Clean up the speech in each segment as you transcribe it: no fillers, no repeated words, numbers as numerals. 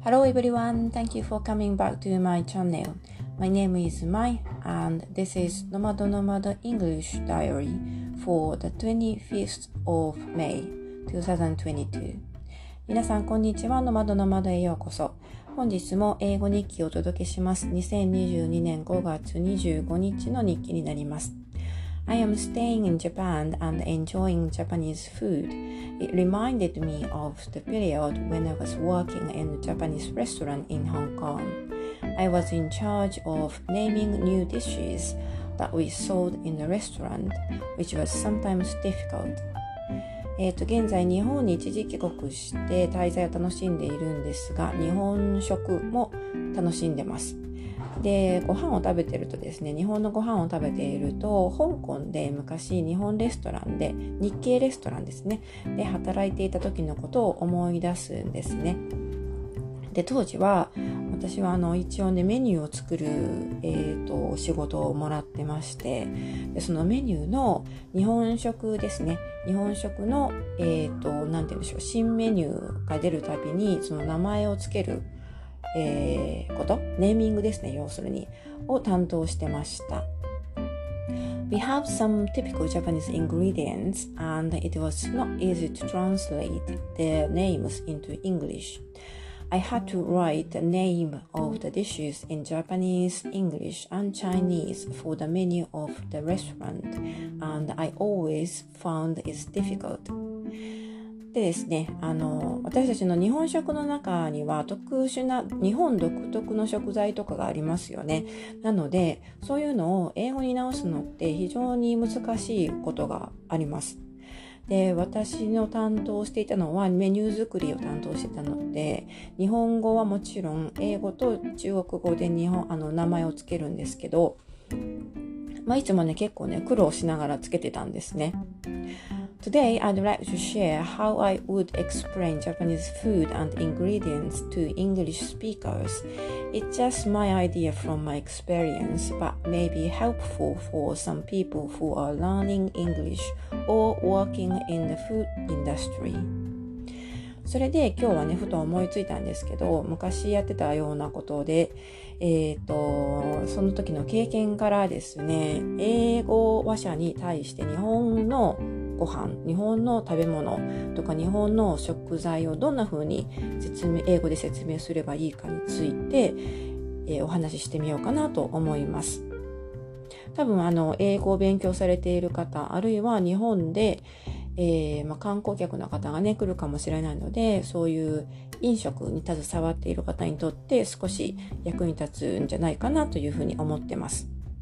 Hello everyone, thank you for coming back to my channel. My name is Mai and this is Nomad English Diary for the 25th of May 2022. 皆さんこんにちは。ノマドへようこそ。本日も英語日記をお届けします。2022年5月25日の日記になります。I am staying in Japan and enjoying Japanese food. It reminded me of the period when I was working in a Japanese restaurant in Hong Kong. I was in charge of naming new dishes that we sold in the restaurant, which was sometimes difficult. 現在日本に一時帰国して滞在を楽しんでいるんですが、日本食も楽しんでます。で、ご飯を食べてるとですね、日本のご飯を食べていると、香港で昔日本レストランで、日系レストランですね、で働いていた時のことを思い出すんですね。で、当時は私は一応ねメニューを作る、仕事をもらってまして、でそのメニューの日本食ですね、日本食のなんて言うんでしょう、新メニューが出るたびにその名前をつけるネーミングですね、要するにを担当してました。We have some typical Japanese ingredients and it was not easy to translate their names into English.I had to write the name of the dishes in Japanese, English, and Chinese for the menu of the restaurant, and I always found it difficult. でですね、私たちの日本食の中には特殊な日本独特の食材とかがありますよね。なので、そういうのを英語に直すのって非常に難しいことがあります。で、私の担当していたのはメニュー作りを担当していたので、日本語はもちろん英語と中国語で名前をつけるんですけど、いつもね結構ね苦労しながらつけてたんですね。Today, I'd like to share how I would explain Japanese food and ingredients to English speakers. It's just my idea from my experience, but may be helpful for some people who are learning English or working in the food industry. それで今日はねふと思いついたんですけど、昔やってたようなことで、その時の経験からですね、英語話者に対して日本のご飯、日本の食べ物とか日本の食材をどんな風に英語で説明すればいいかについて、お話ししてみようかなと思います。多分英語を勉強されている方、あるいは日本で、観光客の方がね来るかもしれないので、そういう飲食に携わっている方にとって少し役に立つんじゃないかなというふうに思ってます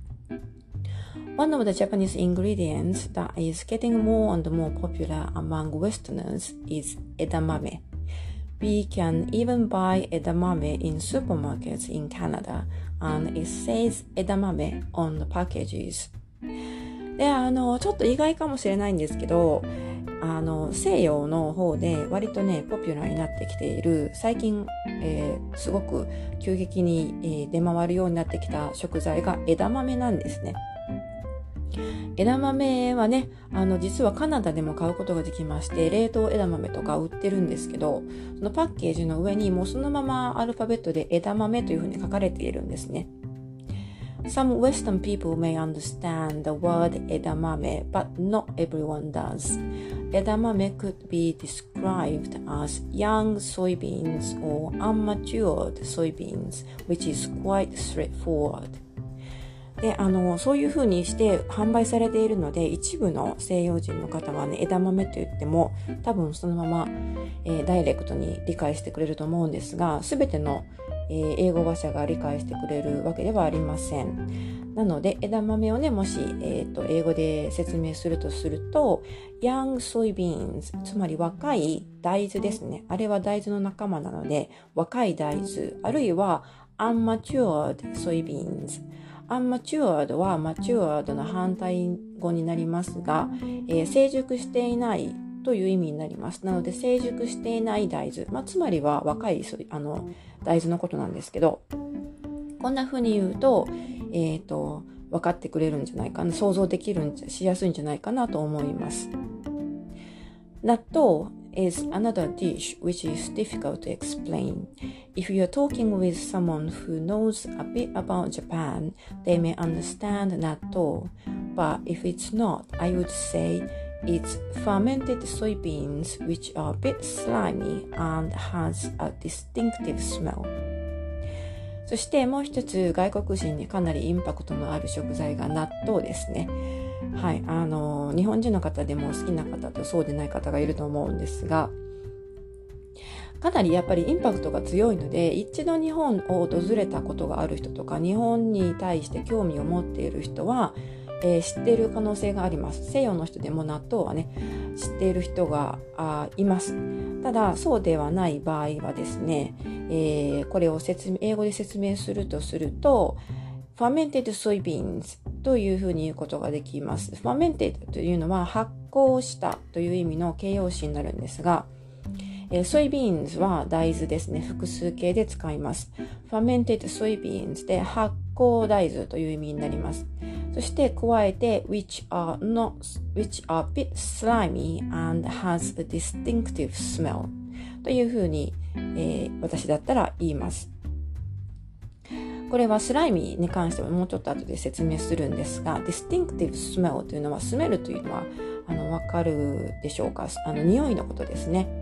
。One of the Japanese ingredients that is getting more and more popular among Westerners is edamame. We can even buy edamame in supermarkets in Canada, and it says edamame on the packages. で、ちょっと意外かもしれないんですけど、西洋の方で割とねポピュラーになってきている、最近、すごく急激に、出回るようになってきた食材が枝豆なんですね。枝豆はね、実はカナダでも買うことができまして、冷凍枝豆とか売ってるんですけど、そのパッケージの上にもうそのままアルファベットで枝豆というふうに書かれているんですね。Some Western people may understand the word edamame, but not everyone does. Edamame could be described as young soybeans or unmatured soybeans, which is quite straightforward.で、そういう風にして販売されているので、一部の西洋人の方はね、枝豆と言っても多分そのまま、ダイレクトに理解してくれると思うんですが、すべての、英語話者が理解してくれるわけではありません。なので、枝豆をね、もし、英語で説明するとすると、young soybeans、つまり若い大豆ですね。あれは大豆の仲間なので、若い大豆、あるいは unmatured soybeans。unmatured は matured の反対語になりますが、成熟していないという意味になります。なので成熟していない大豆、つまりは若い大豆のことなんですけど、こんな風に言うと、分かってくれるんじゃないかな、想像しやすいんじゃないかなと思います。納豆、 is another dish which is difficult to explain. If you are talking with someone who knows a bit about Japan, they may understand natto, but if it's not, I would say it's fermented soybeans which are a bit slimy and has a distinctive smell. そしてもう一つ外国人にかなりインパクトのある食材が納豆ですね。はい、日本人の方でも好きな方とそうでない方がいると思うんですが、かなりやっぱりインパクトが強いので、一度日本を訪れたことがある人とか日本に対して興味を持っている人は、知っている可能性があります。西洋の人でも納豆はね知っている人がいます。ただそうではない場合はですね、これを英語で説明するとfermented soybeans というふうに言うことができます。fermented というのは発酵したという意味の形容詞になるんですが、soybeans は大豆ですね。複数形で使います。fermented soybeans で発酵大豆という意味になります。そして加えて which are a bit slimy and has a distinctive smell というふうに、私だったら言います。これはスライミーに関してはもうちょっと後で説明するんですが、distinctive smell というのはスメルというのはわかるでしょうか。匂いのことですね。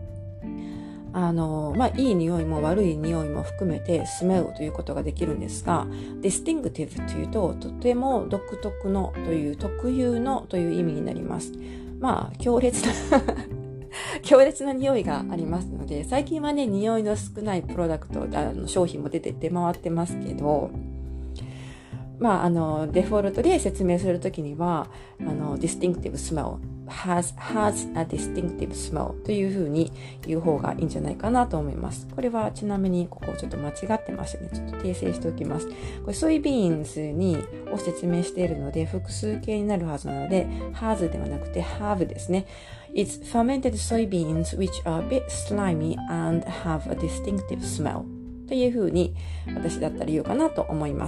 いい匂いも悪い匂いも含めてスメルということができるんですが、distinctive というととても独特のという特有のという意味になります。強烈な匂いがありますので、最近はね匂いの少ないプロダクト商品も出回ってますけど、デフォルトで説明するときにはdistinctive smell has a distinctive smell というふうに言う方がいいんじゃないかなと思います。これはちなみにここちょっと間違ってましたね。ちょっと訂正しておきます。これソイビーンズを説明しているので複数形になるはずなので has ではなくて have ですね。It's fermented soybeans which are a bit slimy and have a distinctive smell というふうに私だったら言うかなと思います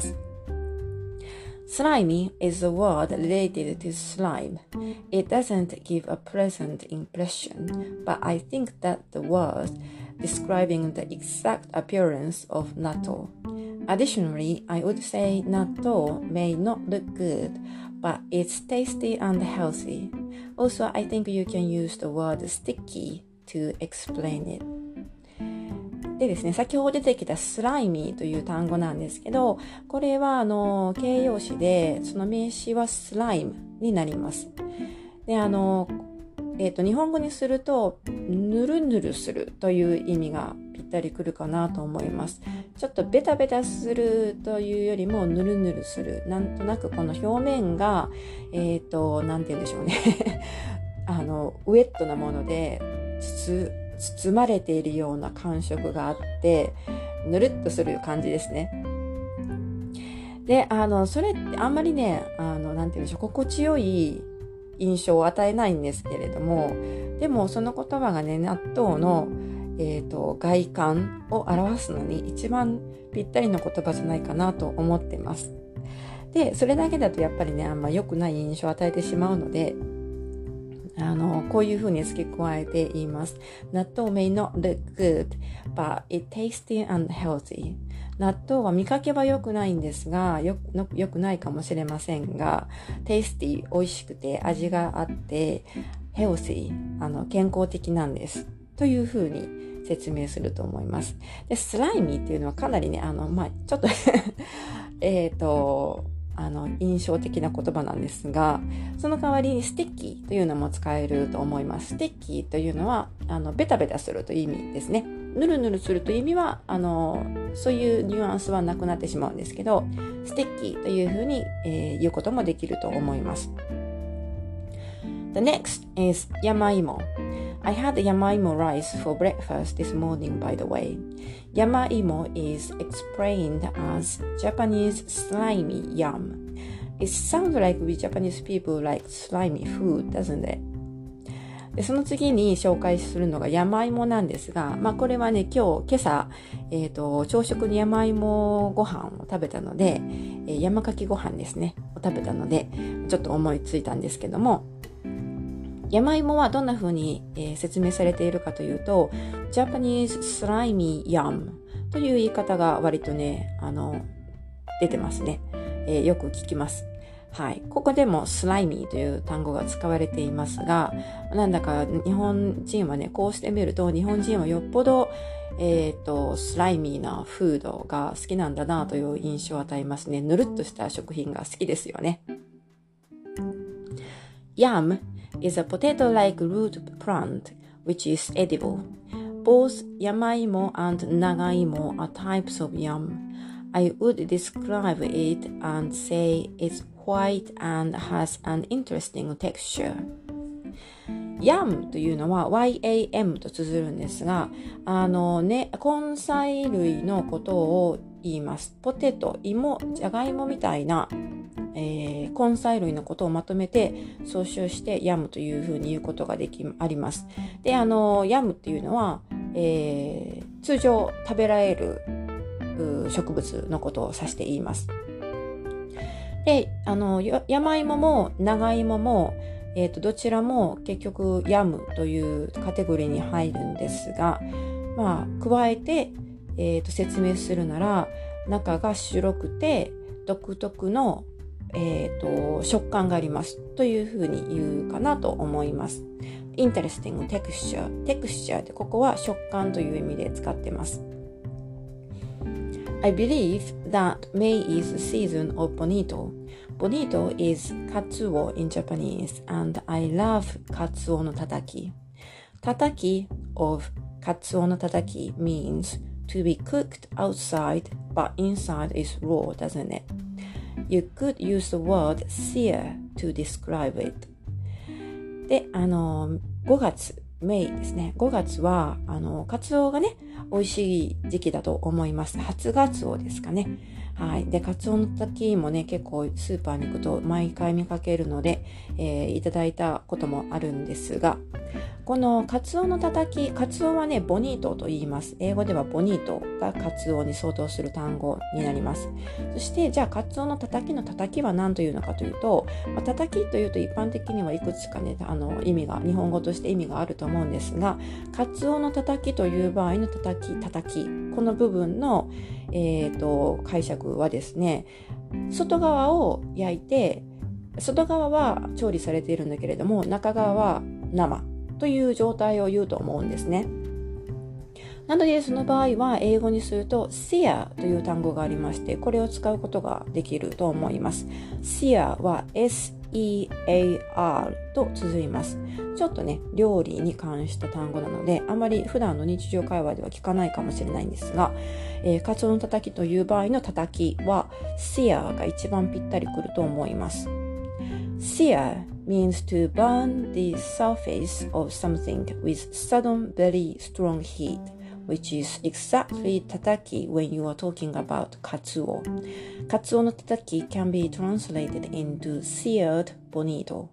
。Slimy is a word related to slime. It doesn't give a pleasant impression, but I think that the word describing the exact appearance of natto. Additionally, I would say natto may not look good, but it's tasty and healthy. Also, I think you can use the word sticky to explain it.でですね、先ほど出てきたスライミーという単語なんですけど、これは形容詞で、その名詞はスライムになります。で、日本語にすると、ぬるぬるするという意味がぴったりくるかなと思います。ちょっとベタベタするというよりも、ぬるぬるする。なんとなくこの表面が、なんて言うんでしょうね。ウェットなもので、包まれているような感触があってぬるっとする感じですね。で、それってあんまりねなんて言うんでしょう、心地よい印象を与えないんですけれども、でもその言葉がね納豆の、外観を表すのに一番ぴったりの言葉じゃないかなと思ってます。で、それだけだとやっぱりねあんま良くない印象を与えてしまうので、こういう風に付け加えて言います。納豆 may not look good, but it tasty and healthy. 納豆は見かけは良くないんですが、良くないかもしれませんが、tasty 美味しくて味があって、healthy 健康的なんです。という風に説明すると思います。で、スライミーっていうのはかなりね、ちょっと印象的な言葉なんですが、その代わりにステッキーというのも使えると思います。ステッキーというのはベタベタするという意味ですね。ぬるぬるするという意味はそういうニュアンスはなくなってしまうんですけど、ステッキーというふうに、言うこともできると思います。The next is yamaimo. I had yamaimo rice for breakfast this morning, by the way. Yamaimo is explained as Japanese slimy yam. It sounds like we Japanese people like slimy food, doesn't it? で、その次に紹介するのが山芋なんですが、これはね、今朝、朝食に山芋ご飯を食べたので、山かきご飯ですね、を食べたので、ちょっと思いついたんですけども、 山芋はどんな風に、説明されているかというと Japanese slimy yam という言い方が割とね出てますね、よく聞きます。はい、ここでもスライミーという単語が使われていますが、なんだか日本人はね、こうしてみると日本人はよっぽど、スライミーなフードが好きなんだなという印象を与えますね。ぬるっとした食品が好きですよね。Yam is a potato-like root plant which is edible. Both yamaimo and nagaimo are types of yam.I would describe it and say it's white and has an interesting texture. Yam というのは YAM と綴るんですが、根菜類のことを言います。ポテト、芋、じゃがいもみたいな、根菜類のことをまとめて総称してヤムというふうに言うことがあります。で、ヤムっていうのは、通常食べられる植物のことを指して言います。で、山芋も長芋も、どちらも結局ヤムというカテゴリーに入るんですが、加えて、説明するなら中が白くて独特の、食感がありますというふうに言うかなと思います。Interesting texture でここは食感という意味で使ってます。I believe that May is the season of bonito. Bonito is katsuo in Japanese, and I love katsuo no tataki. Tataki of katsuo no tataki means to be cooked outside, but inside is raw, doesn't it? You could use the word sear to describe it. で、5月、メイですね。5月は、カツオがね、美味しい時期だと思います。初ガツオですかね。はい。で、カツオのたたきもね、結構スーパーに行くと毎回見かけるので、いただいたこともあるんですが、このカツオのたたき、カツオはね、ボニートと言います。英語ではボニートがカツオに相当する単語になります。そして、じゃあカツオのたたきのたたきは何というのかというと、たたきというと一般的にはいくつかね、意味が、日本語として意味があると思うんですが、カツオのたたきという場合のたたき、この部分の、解釈はですね、外側を焼いて、外側は調理されているんだけれども、中側は生という状態を言うと思うんですね。なのでその場合は英語にすると sear という単語がありまして、これを使うことができると思います。sear は S-E-A-R と綴ります。ちょっとね、料理に関した単語なので、あまり普段の日常会話では聞かないかもしれないんですが、カツオのたたきという場合のたたきは sear が一番ぴったりくると思います。sear means to burn the surface of something with sudden very strong heat, which is exactly tataki when you are talking about katsuo. Katsuo no tataki can be translated into seared bonito.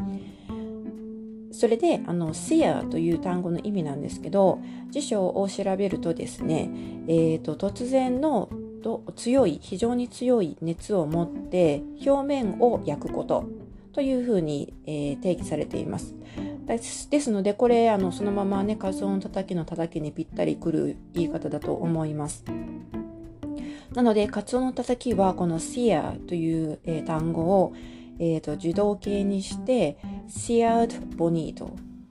それでsear という単語の意味なんですけど、辞書を調べるとですね、突然の非常に強い熱を持って表面を焼くことというふうに、定義されています。ですのでこれそのままね、カツオのたたきのたたきにぴったりくる言い方だと思います。なのでカツオのたたきはこの sear という、単語を、受動形にしてseared bonito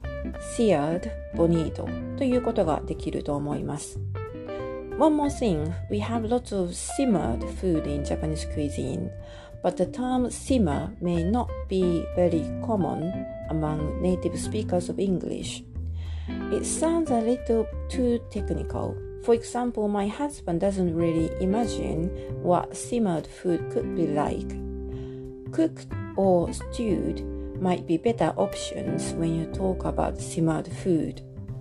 ということができると思います。One more thing, we have lots of simmered food in Japanese cuisine.But the term simmer may not be very common among native speakers of English. It sounds a little too technical. For example, my husband doesn't really imagine what simmered food could be like. Cooked or stewed might be better options when you talk about simmered food.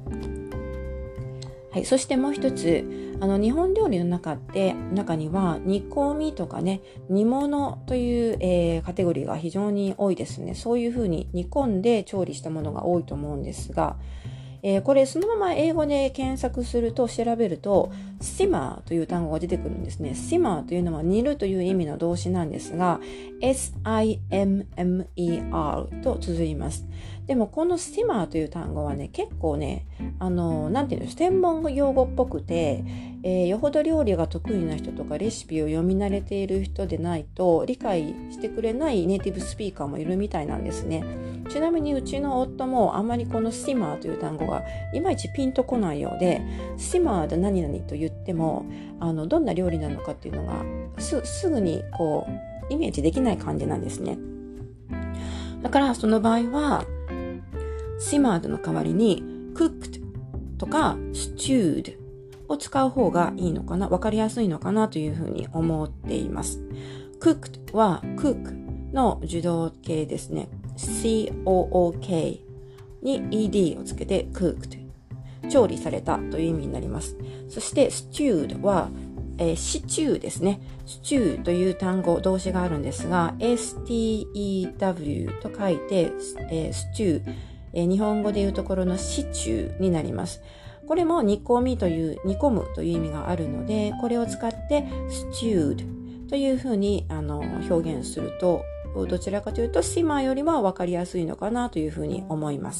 はい、そしてもう一つ、日本料理の中には煮込みとかね、煮物という、カテゴリーが非常に多いですね。そういうふうに煮込んで調理したものが多いと思うんですが、これそのまま英語で検索すると調べると simmer という単語が出てくるんですね。simmer というのは煮るという意味の動詞なんですが S-I-M-M-E-R と綴ります。 でもこのスティマーという単語はね、結構ね、なんていうの、専門用語っぽくて、よほど料理が得意な人とかレシピを読み慣れている人でないと理解してくれないネイティブスピーカーもいるみたいなんですね。ちなみにうちの夫もあんまりこのスティマーという単語がいまいちピンとこないようで、スティマーで何々と言ってもどんな料理なのかっていうのがすぐにこうイメージできない感じなんですね。だからその場合はsimmered の代わりに cooked とか stewed を使う方がいいのかな、わかりやすいのかなというふうに思っています。cooked は cook の受動形ですね。cook に ed をつけて cooked、 調理されたという意味になります。そして stewed はシチューですね。シチューという単語、動詞があるんですが、stew と書いて、スチュー、日本語でいうところのシチューになります。これも煮込むという意味があるので、これを使って stewed というふうに表現すると、どちらかというと simmer よりは分かりやすいのかなというふうに思います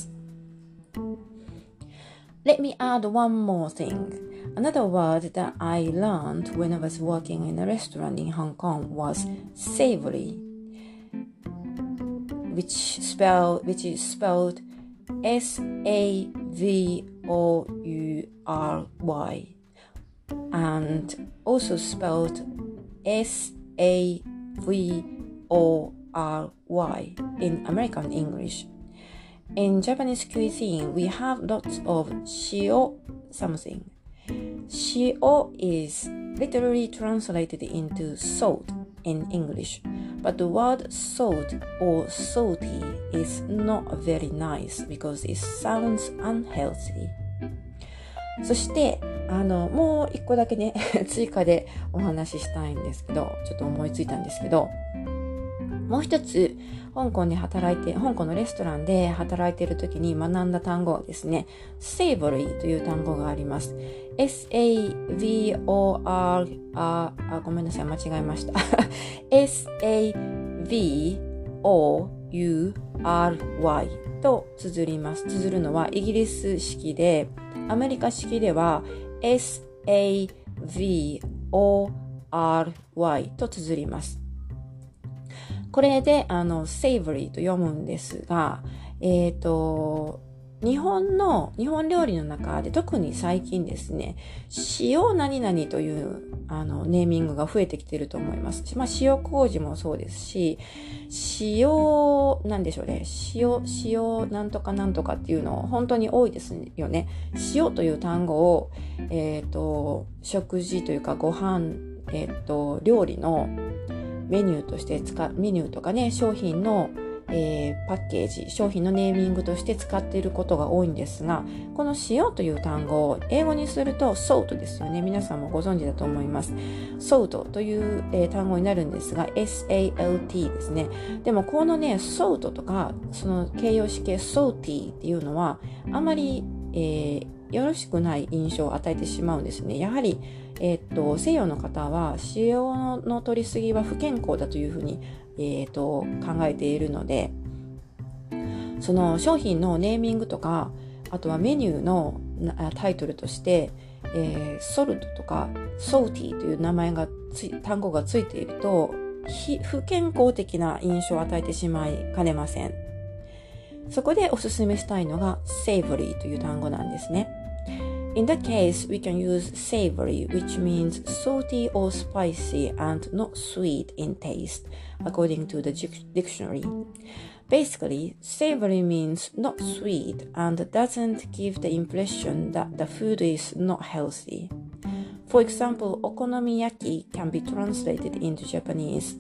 。Let me add one more thing.Another word that I learned when I was working in a restaurant in Hong Kong was savory, which is spelled S-A-V-O-U-R-Y and also spelled S-A-V-O-R-Y in American English.In Japanese cuisine, we have lots of shio something.Shio is literally translated into salt in English, but the word salt or salty is not very nice because it sounds unhealthy. そしてもう一個だけね追加でお話ししたいんですけど、ちょっと思いついたんですけど、もう一つ香港のレストランで働いている時に学んだ単語はですね、savory という単語があります。S-A-V-O-R ごめんなさい、間違えました。S-A-V-O-U-R-Y と綴ります。綴るのはイギリス式で、アメリカ式では S-A-V-O-R-Y と綴ります。これでsavory と読むんですが、日本料理の中で特に最近ですね、塩何々というネーミングが増えてきていると思います。塩麹もそうですし、なんでしょうね、塩なんとかなんとかっていうの本当に多いですよね。塩という単語を食事というかご飯料理のメニューとかね、商品の、パッケージ、商品のネーミングとして使っていることが多いんですが、この塩という単語を英語にすると salt ですよね。皆さんもご存知だと思います。salt という、単語になるんですが、S-A-L-T ですね。でもこのね、salt とかその形容詞形 salty っていうのはあまり、よろしくない印象を与えてしまうんですね。やはり西洋の方は塩の取りすぎは不健康だというふうに、考えているので、その商品のネーミングとか、あとはメニューのタイトルとして、ソルトとかソーティーという単語がついていると不健康的な印象を与えてしまいかねません。そこでおすすめしたいのが savory という単語なんですね。In that case, we can use savory, which means salty or spicy and not sweet in taste, according to the dictionary. Basically, savory means not sweet and doesn't give the impression that the food is not healthy. For example, okonomiyaki can be translated into Japanese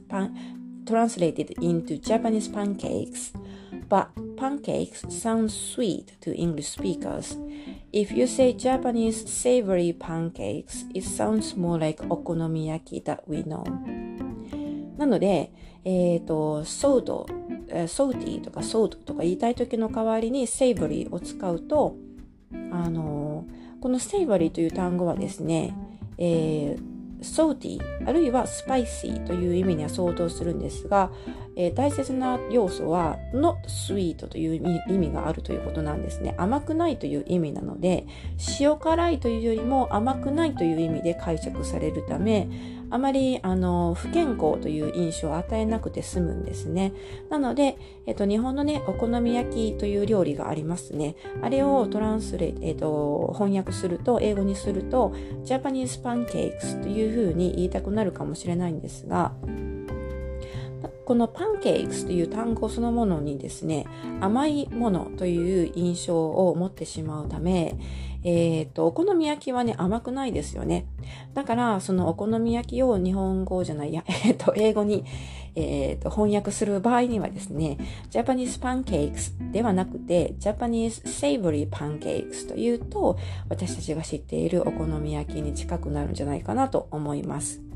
pancakes, but pancakes sound sweet to English speakers.If you say Japanese savory pancakes, it sounds more like okonomiyaki that we know. なので、ソーティーとかソートとか言いたい時の代わりに savory を使うと、この savory という単語はですね、ソーティーあるいはスパイシーという意味には相当するんですが、 大切な要素は not sweet という意味があるということなんですね。甘くないという意味なので、塩辛いというよりも甘くないという意味で解釈されるため、あまり不健康という印象を与えなくて済むんですね。なので、日本のね、お好み焼きという料理がありますね。あれを翻訳すると、英語にすると、Japanese pancakes というふうに言いたくなるかもしれないんですが、このパンケーキスという単語そのものにですね、甘いものという印象を持ってしまうため、お好み焼きはね、甘くないですよね。だから、そのお好み焼きを日本語じゃないや、英語に、翻訳する場合にはですね、Japanese pancakes ではなくて、Japanese savory pancakes というと、私たちが知っているお好み焼きに近くなるんじゃないかなと思います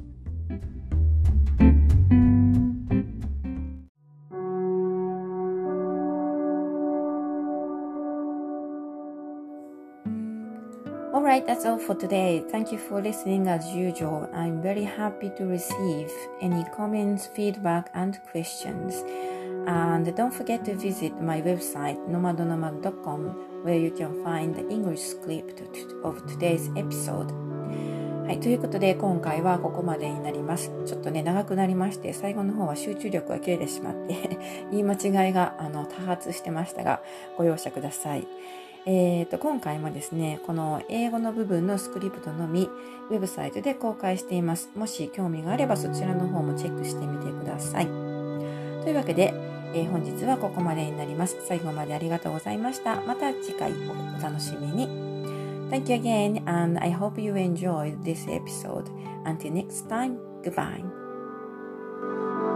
。Alright, that's all for today. Thank you for listening as usual. I'm very happy to receive any comments, feedback, and questions. And don't forget to visit my website, nomadonomad.com, where you can find the English script of today's episode. はい、ということで今回はここまでになります。ちょっとね、長くなりまして、最後の方は集中力が切れてしまって、言い間違いが多発してましたが、ご容赦ください。今回もですね、この英語の部分のスクリプトのみ、ウェブサイトで公開しています。もし興味があればそちらの方もチェックしてみてください。というわけで、本日はここまでになります。最後までありがとうございました。また次回お楽しみに。Thank you again, and I hope you enjoyed this episode. Until next time, goodbye.